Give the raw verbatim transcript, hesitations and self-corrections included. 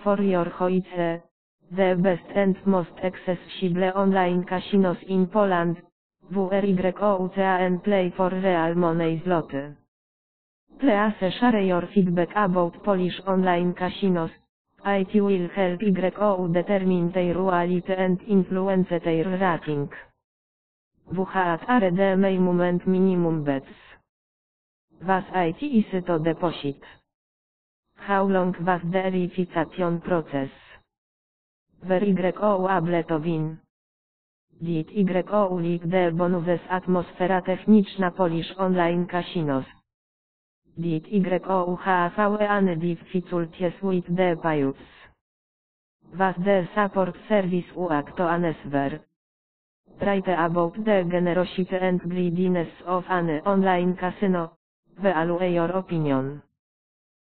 for your choice, the best and most accessible online casinos in Poland, where and play for real money zloty. Please share your feedback about Polish online casinos. It will help you determine their quality and influence their rating. What are the minimum and minimum bets? Was it is to deposit? How long was the verification process? Were you able to win? Did you like the bonuses atmosfera techniczna Polish online casinos? Did you have any difficulties with the payouts? Was the support service quick to answer? Write about the generosity and greediness of an online casino. Value your opinion.